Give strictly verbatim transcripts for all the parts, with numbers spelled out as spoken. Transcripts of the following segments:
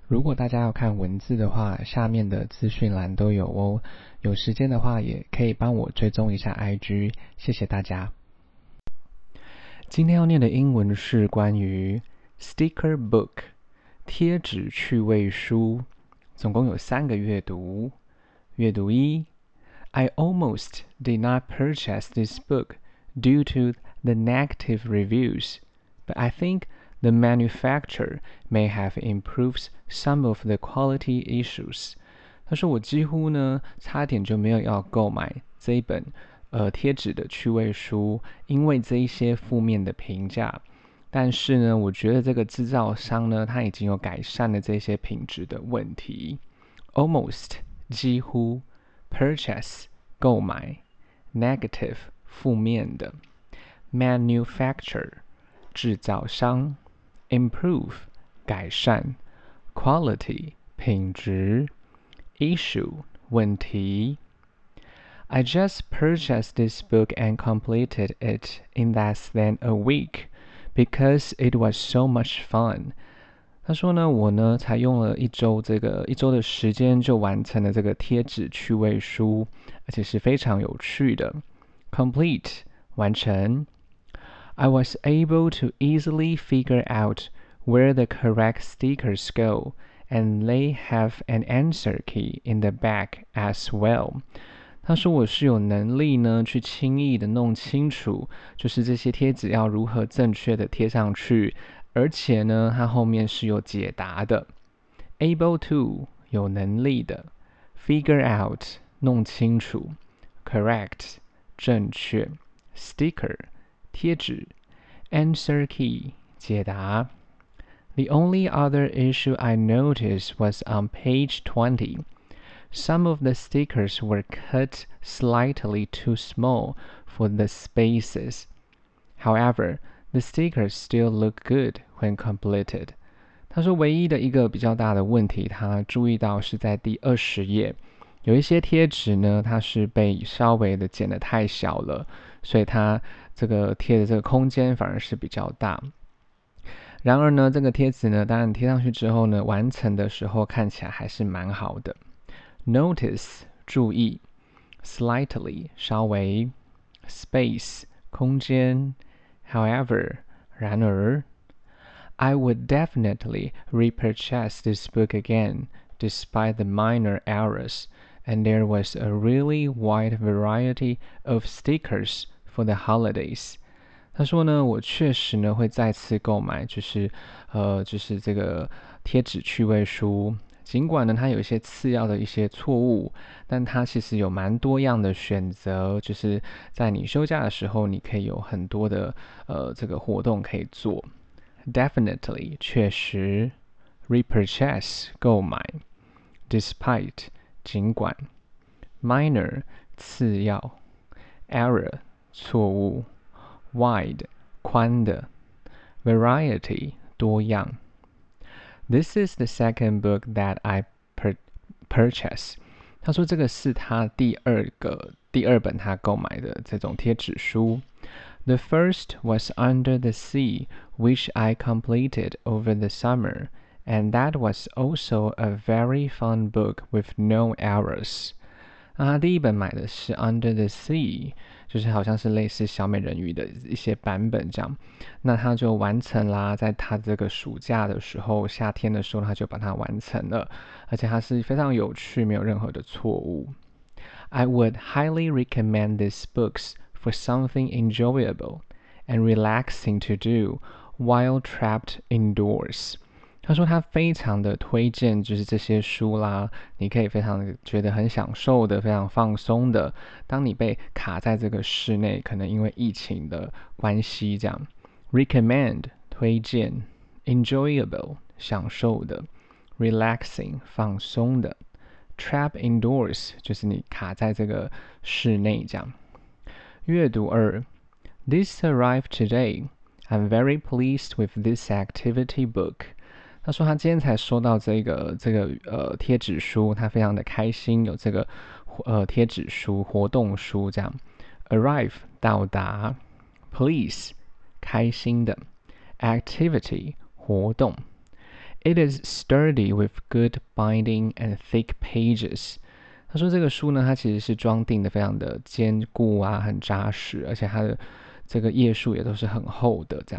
如果大家要看文字的話，下面的資訊欄都有哦。有時間的話，也可以幫我追蹤一下 I G， 謝謝大家。今天要念的英文是關於 Sticker Book 貼紙趣味書，總共有三個閱讀。閱讀一 I almost did not purchase this book due to the negative reviews, but I think the manufacturer may have improved some of the quality issues. 他說我幾乎呢差點就沒有要購買這一本呃貼紙的趣味書，因為這一些負面的評價。但是呢，我覺得這個製造商呢，他已經有改善了這些品質的問題。Almost 幾乎 purchase 購買 negative 負面的 manufacturer 製造商Improve 改善 Quality 品質 Issue 問題 I just purchased this book and completed it in less than a week because it was so much fun. 他說呢，我呢才用了一周這個一周的時間就完成了這個貼紙趣味書，而且是非常有趣的。Complete 完成I was able to easily figure out where the correct stickers go, and they have an answer key in the back as well. 他說我是有能力呢去輕易的弄清楚，就是這些貼紙要如何正確的貼上去，而且呢它後面是有解答的。Able to 有能力的 Figure out 弄清楚 Correct 正確 Sticker貼紙 Answer key 解答 The only other issue I noticed was on page twenty. Some of the stickers were cut slightly too small for the spaces. However, the stickers still look good when completed. 他說唯一的一個比較大的問題，他注意到是在第二十頁，有一些貼紙呢，它是被稍微的剪得太小了，所以它這個貼的這個空間反而是比較大。然而呢，這個貼紙呢，當然貼上去之後呢，完成的時候看起來還是蠻好的。Notice 注意 Slightly 稍微 Space 空間 However 然而I would definitely repurchase this book again despite the minor errors, and there was a really wide variety of stickers for the holidays. 他說呢，我確實呢會再次購買，就是呃，就是這個貼紙趣味書。儘管呢它有一些次要的一些錯誤，但它其實有蠻多樣的選擇，就是在你休假的時候，你可以有很多的呃這個活動可以做。Definitely 確實 Repurchase 購買 Despite 儘管 Minor 次要 Error 錯誤Wide 寬的 Variety 多樣 This is the second book that I per- purchased. 他說這個是他第二個第二本他購買的這種貼紙書。The first was Under the Sea, which I completed over the summer, and that was also a very fun book with no errors. 那他第一本買的是 Under the Sea， 就是好像是類似小美人魚的一些版本這樣。那他就完成啦，在他這個暑假的時候，夏天的時候他就把它完成了，而且它是非常有趣，沒有任何的錯誤。I would highly recommend these books for something enjoyable and relaxing to do while trapped indoors. 他說他非常的推薦就是這些書啦，你可以非常的覺得很享受的，非常放鬆的，當你被卡在這個室內，可能因為疫情的關係這樣。Recommend 推薦 Enjoyable 享受的 Relaxing 放鬆的 Trap indoors 就是你卡在這個室內這樣。閱讀二 This arrived today. I'm very pleased with this activity book. 他說他今天才收到這個這個呃貼紙書，他非常的開心，有這個呃貼紙書活動書這樣。Arrive 到達 Please 開心的 Activity 活動 It is sturdy with good binding and thick pages. 他說這個書呢，它其實是裝訂的非常的堅固啊，很扎實，而且它的這個頁數也都是很厚的。這樣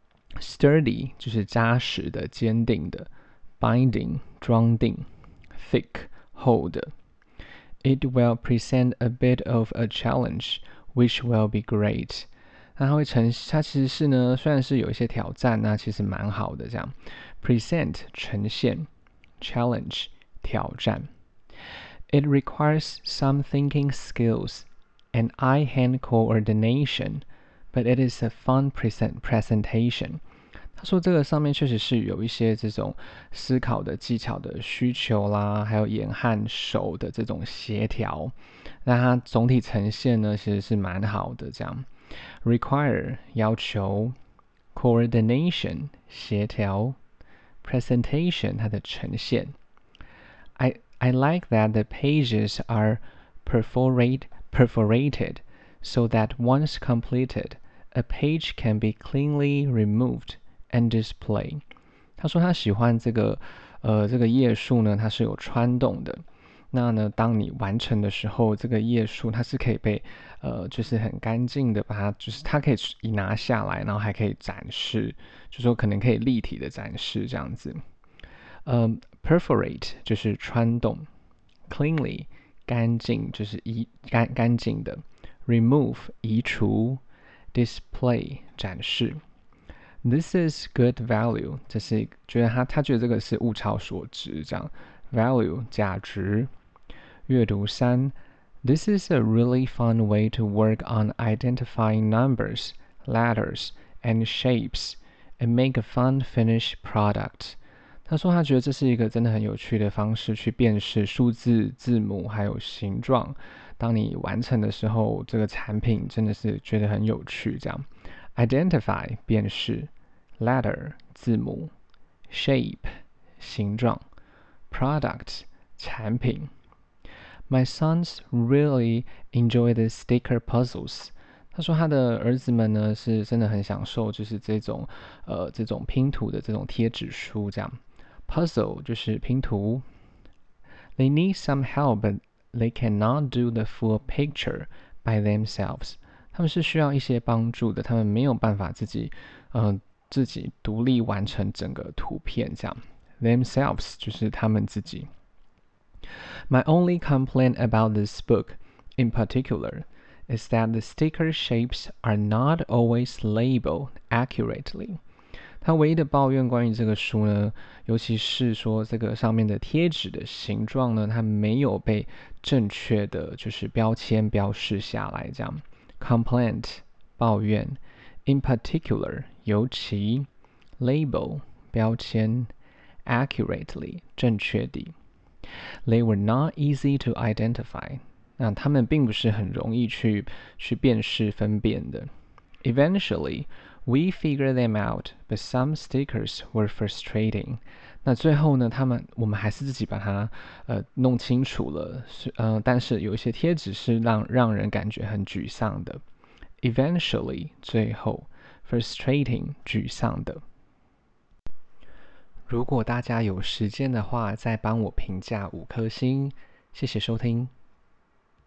，sturdy 就是扎實的、堅定的 ，binding 裝訂 ，thick 厚的。It will present a bit of a challenge, which will be great. 那它會呈，它其實是呢，雖然是有一些挑戰，那其實蠻好的。這樣 ，present 呈現 ，challenge 挑戰。It requires some thinking skills and eye-hand coordination, but it is a fun present presentation. 他說這個上面確實是有一些這種思考的技巧的需求啦，還有眼和手的這種協調。那它總體呈現呢，其實是蠻好的。這樣 ，require 要求 ，coordination 協調 ，presentation 它的呈現。I I like that the pages are perforate, perforated so that once completed, a page can be cleanly removed and displayed. 他說他喜歡這個呃這個頁數呢，它是有穿洞的。那呢，當你完成的時候，這個頁數它是可以被呃就是很乾淨的把它，就是它可以一拿下來，然後還可以展示，就說可能可以立體的展示這樣子。呃、um, perforate 就是穿洞 ，cleanly 乾淨就是一乾乾淨的 ，remove 移除 ，display 展示。This is good value， 這是覺得他他覺得這個是物超所值這樣 ，value 價值。閱讀三 ，This is a really fun way to work on identifying numbers, letters, and shapes, and make a fun finished product. 他說他覺得這是一個真的很有趣的方式去辨識數字、字母還有形狀。當你完成的時候，這個產品真的是覺得很有趣。這樣 ，identify 辨識 ，letter 字母 ，shape 形狀 ，product 產品。My sons really enjoy the sticker puzzles. 他說他的兒子們呢是真的很享受，就是這種呃這種拼圖的這種貼紙書這樣。Puzzle 就是拼圖。They need some help, but they cannot do the full picture by themselves. 他們是需要一些幫助的，他們沒有辦法自己，呃，自己獨立完成整個圖片這樣。Themselves 就是他們自己。My only complaint about this book, in particular, is that the sticker shapes are not always labeled accurately. 他唯一的抱怨關於這個書呢，尤其是說這個上面的貼紙的形狀呢，它沒有被正確的就是標籤標示下來，這樣。Complaint 抱怨 ，in particular 尤其 ，label 標籤 ，accurately 正確地。They were not easy to identify. 那他們並不是很容易去去辨識分辨的。Eventually, we figured them out, but some stickers were frustrating. 那最後呢，他們我們還是自己把它呃弄清楚了，呃，但是有一些貼紙是讓讓人感覺很沮喪的。Eventually 最後 frustrating 沮喪的。如果大家有時間的話，再幫我評價五顆星，謝謝收聽。